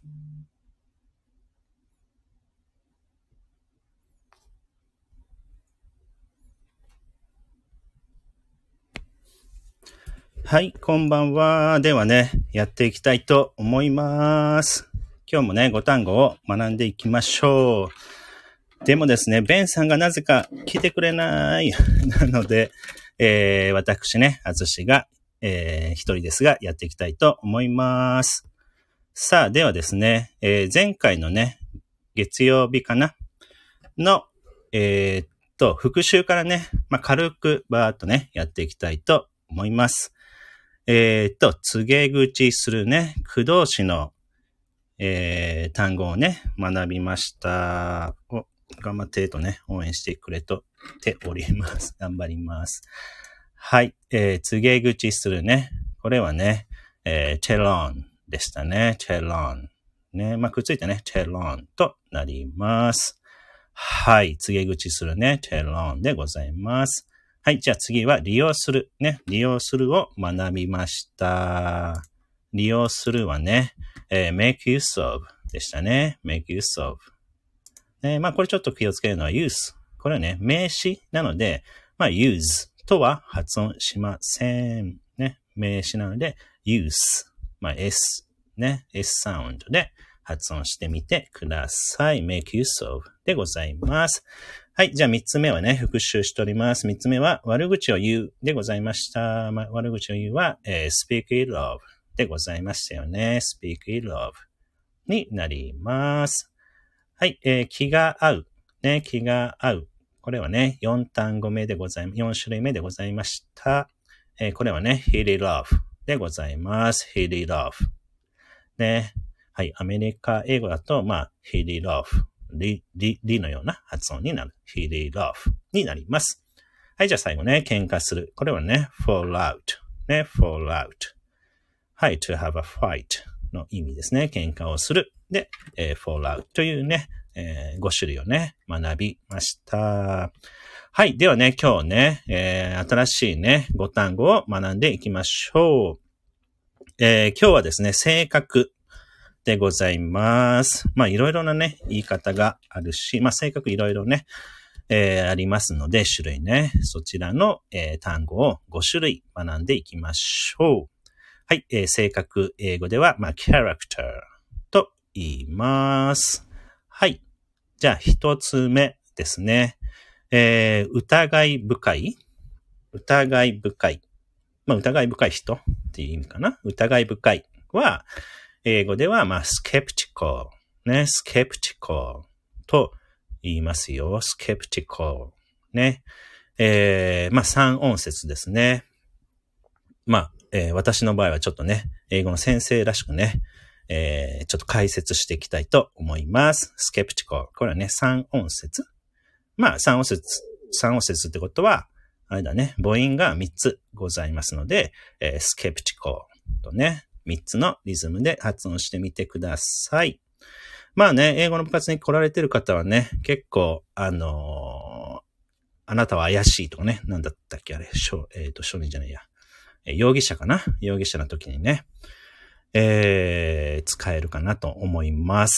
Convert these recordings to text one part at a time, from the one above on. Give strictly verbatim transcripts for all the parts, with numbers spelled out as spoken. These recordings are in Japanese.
はい、こんばんは。ではね、やっていきたいと思います。今日もね、ご単語を学んでいきましょう。でもですね、ベンさんがなぜか来てくれない。なので、えー、私ね、あずしが、えー、一人ですが、やっていきたいと思います。さあ、ではですね、えー、前回のね、月曜日かなの、えー、っと、復習からね、まあ、軽くバーっとね、やっていきたいと思います。えー、っと、告げ口するね、駆動詞の、えー、単語をね、学びました。お、頑張ってとね、応援してくれとっております。頑張ります。はい、えー、告げ口するね。これはね、えー、チェロンでしたね。チェロン。ね、まあ、くっついてね、チェロンとなります。はい、告げ口するね、チェロンでございます。はい。じゃあ次は利用する。ね。利用するを学びました。利用するはね、えー、make use of でしたね。make use of。ね、まあこれちょっと気をつけるのは use。これはね、名詞なので、まあ use とは発音しません。ね。名詞なので use。まあ s。ね。s サウンドで発音してみてください。make use of でございます。はい。じゃあ三つ目はね、復習しております。三つ目は悪口を言うでございました。まあ、悪口を言うは、えー、speak ill of でございましたよね。speak ill of になります。はい。えー、気が合う。ね、気が合う。これはね、四単語目でございます。四種類目でございました。えー、これはね、hit it off でございます。hit it off。ね。はい。アメリカ英語だと、まあ、hit it off。リ、リ、リのような発音になる。hit it off になります。はい、じゃあ最後ね、喧嘩する。これはね、fall out。ね、fall out。はい、to have a fight の意味ですね。喧嘩をする。で、えー、fall out というね、えー、ご種類をね、学びました。はい、ではね、今日ね、えー、新しいね、ご単語を学んでいきましょう。えー、今日はですね、性格。でございます。まあいろいろなね、言い方があるし、まあ性格いろいろね、えー、ありますので、種類ね、そちらの、えー、単語をご種類学んでいきましょう。はい、えー、性格英語では、まあ character と言います。はい。じゃあ一つ目ですね。えー、疑い深い疑い深い。まあ疑い深い人っていう意味かな。疑い深いは、英語では、まあ、skeptical ね、skeptical と言いますよ。skeptical ね。えー、まあ、三音節ですね。まあ、えー、私の場合はちょっとね、英語の先生らしくね、えー、ちょっと解説していきたいと思います。skeptical。これはね、三音節。まあ、三音節、三音節ってことは、あれだね、母音が三つございますので、えー、skeptical とね、三つのリズムで発音してみてください。まあね、英語の部活に来られてる方はね、結構、あのー、あなたは怪しいとかね、なんだったっけあれ、えっと、少年じゃないや、えー、容疑者かな容疑者の時にね、えー、使えるかなと思います。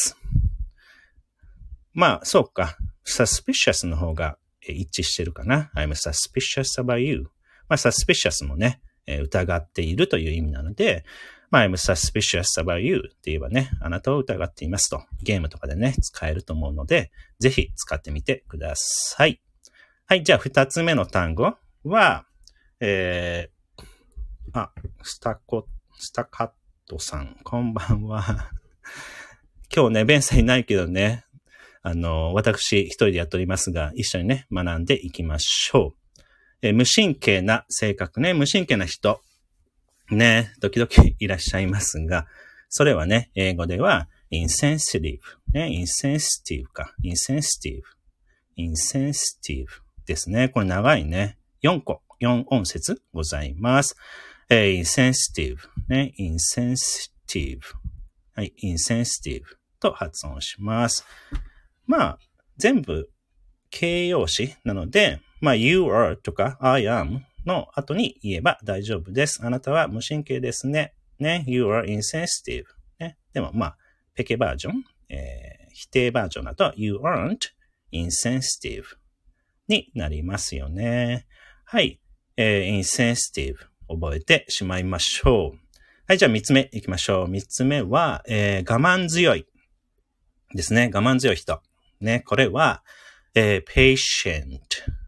まあ、そうか、suspicious の方が一致してるかな。I'm suspicious about you。まあ、suspicious もね、疑っているという意味なので、まあ、I'm suspicious about you って言えばね、あなたを疑っていますと、ゲームとかでね、使えると思うので、ぜひ使ってみてください。はい、じゃあ二つ目の単語は、えー、あ、スタコ、スタカットさん、こんばんは。今日ね、ベンさんいないけどね、あの、私一人でやっておりますが、一緒にね、学んでいきましょう。えー、無神経な性格ね、無神経な人。ね、時々いらっしゃいますが、それはね、英語では insensitive ね、insensitive か、insensitive insensitive ですね。これ長いね。よんこ、よん音節ございます。えー、insensitive ね、insensitive はい、insensitive と発音します。まあ、全部形容詞なので、まあ、you are とか I amの後に言えば大丈夫です。あなたは無神経ですね。ね。You are insensitive. ね。でもまあ、 ペケバージョン、えー、否定バージョンだと You aren't insensitive になりますよね。はい。えー、insensitive 覚えてしまいましょう。はい、じゃあ三つ目行きましょう。三つ目は、えー、我慢強いですね。我慢強い人。ね、これは、えー、patient,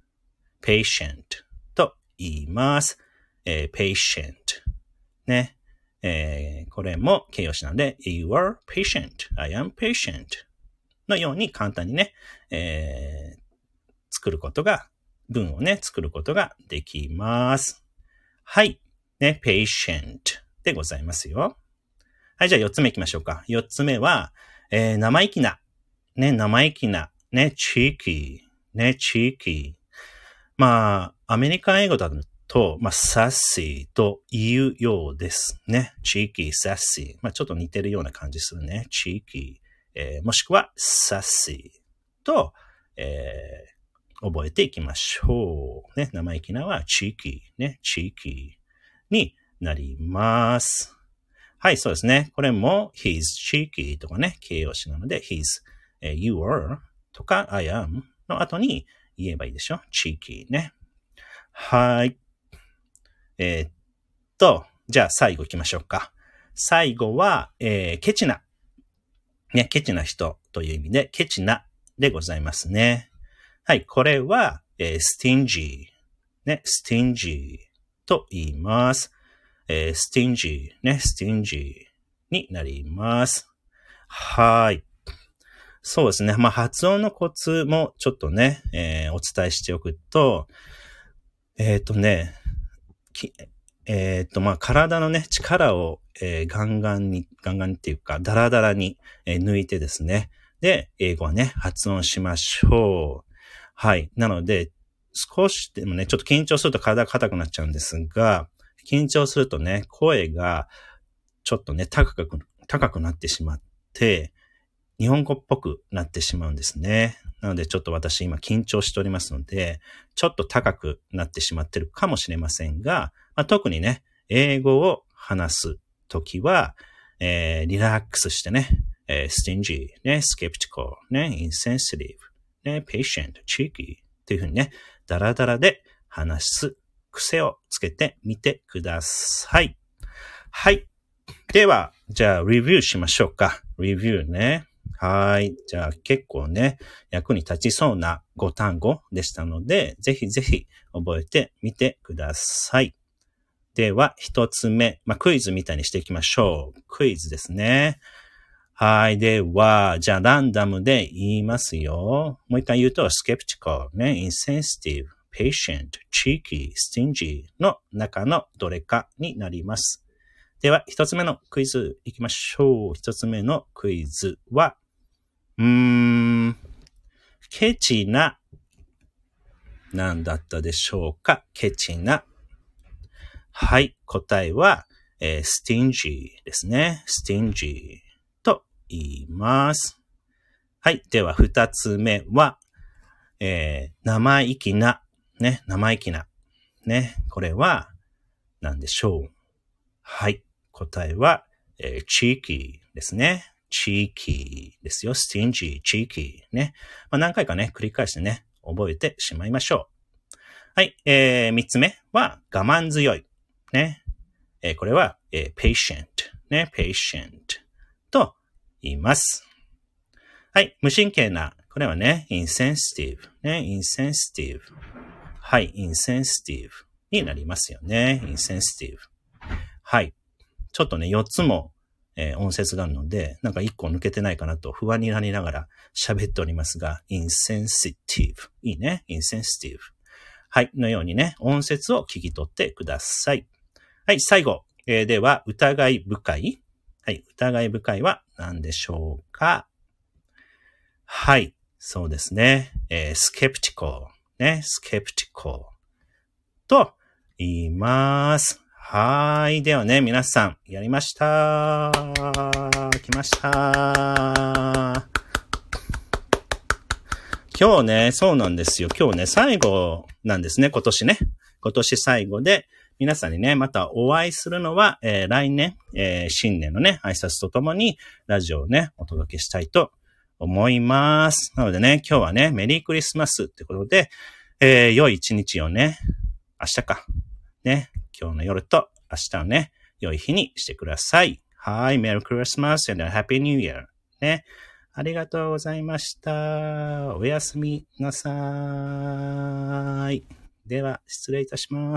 patient と言います。えー、patient ね。えー、これも形容詞なんで、You are patient, I am patient のように簡単にね、えー、作ることが、文をね、作ることができます。はい。ね、patient でございますよ。はい、じゃあ四つ目行きましょうか。四つ目は、えー、生意気な。ね、生意気な。ね、cheeky。ね、cheeky。まあ、アメリカン英語だと、まあ、sassy と言うようですね。cheeky, sassy。まあ、ちょっと似てるような感じするね。cheeky。えー、もしくは sassy と、えー覚えていきましょう。ね、生意気なは cheeky ね、cheeky になります。はい、そうですね。これも he's cheeky とかね、形容詞なので he's、えー、you are とか I am の後に言えばいいでしょ。cheeky ね。はい。えー、っと、じゃあ最後行きましょうか。最後は、えー、ケチな。ね、ケチな人という意味で、ケチなでございますね。はい、これは、えー、stingy ね、stingy と言います。えー、stingy ね、stingy になります。はい。そうですね。まあ、発音のコツもちょっとね、えー、お伝えしておくと、えっとね、えっと、まあ、体のね、力を、えー、ガンガンに、ガンガンっていうか、ダラダラに、えー、抜いてですね。で、英語はね、発音しましょう。はい。なので、少しでもね、ちょっと緊張すると体が硬くなっちゃうんですが、緊張するとね、声がちょっとね、高く、高くなってしまって、日本語っぽくなってしまうんですね。なので、ちょっと私今緊張しておりますので、ちょっと高くなってしまってるかもしれませんが、まあ、特にね、英語を話すときは、えー、リラックスしてね、えー、stingy ね、skeptical ね、insensitiveね、patient, cheeky というふうにね、ダラダラで話す癖をつけてみてください。はい。では、じゃあ、レビューしましょうか。レビューね。はい。じゃあ、結構ね、役に立ちそうなご単語でしたので、ぜひぜひ覚えてみてください。では、一つ目。まあ、クイズみたいにしていきましょう。クイズですね。はい。では、じゃあ、ランダムで言いますよ。もう一回言うと、skeptical ね、insensitive, patient, cheeky, stingy の中のどれかになります。では、一つ目のクイズいきましょう。一つ目のクイズは、うーん、ケチな、なんだったでしょうか。ケチな。はい。答えは、えー、stingy ですね。stingy と言います。はい。では、二つ目は、えー、生意気な。ね。生意気な。ね。これは、何でしょう。はい。答えは、えー、cheeky ですね。cheeky ですよ。stingy, cheeky ね。まあ、何回かね、繰り返してね、覚えてしまいましょう。はい。えー、三つ目は、我慢強い。ね。えー、これは、えー、patient ね。patient と言います。はい。無神経な。これはね、insensitive ね。insensitive はい。insensitive になりますよね。insensitive はい。ちょっとね、四つも、えー、音節があるので、なんか一個抜けてないかなと不安になりながら喋っておりますが、insensitive いいね。insensitive はい。のようにね、音節を聞き取ってください。はい。最後。えー、では、疑い深い。はい。疑い深いは何でしょうか。はい。そうですね。えー、skeptical ね。skeptical と言います。はい。ではね、皆さん、やりました。来ました。今日ね、そうなんですよ。今日ね、最後なんですね、今年ね。今年最後で、 皆さんにね、またお会いするのは、えー、来年、えー、新年のね、挨拶とともに、ラジオをね、お届けしたいと思います。なのでね、今日はね、メリークリスマスってことで、えー、良い一日をね、明日か、ね、今日の夜と明日をね、良い日にしてください。はい、メリークリスマス and a Happy New Year。ね。ありがとうございました。おやすみなさい。では、失礼いたします。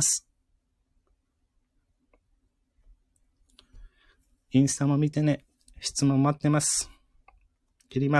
インスタも見てね。質問待ってます。切ります。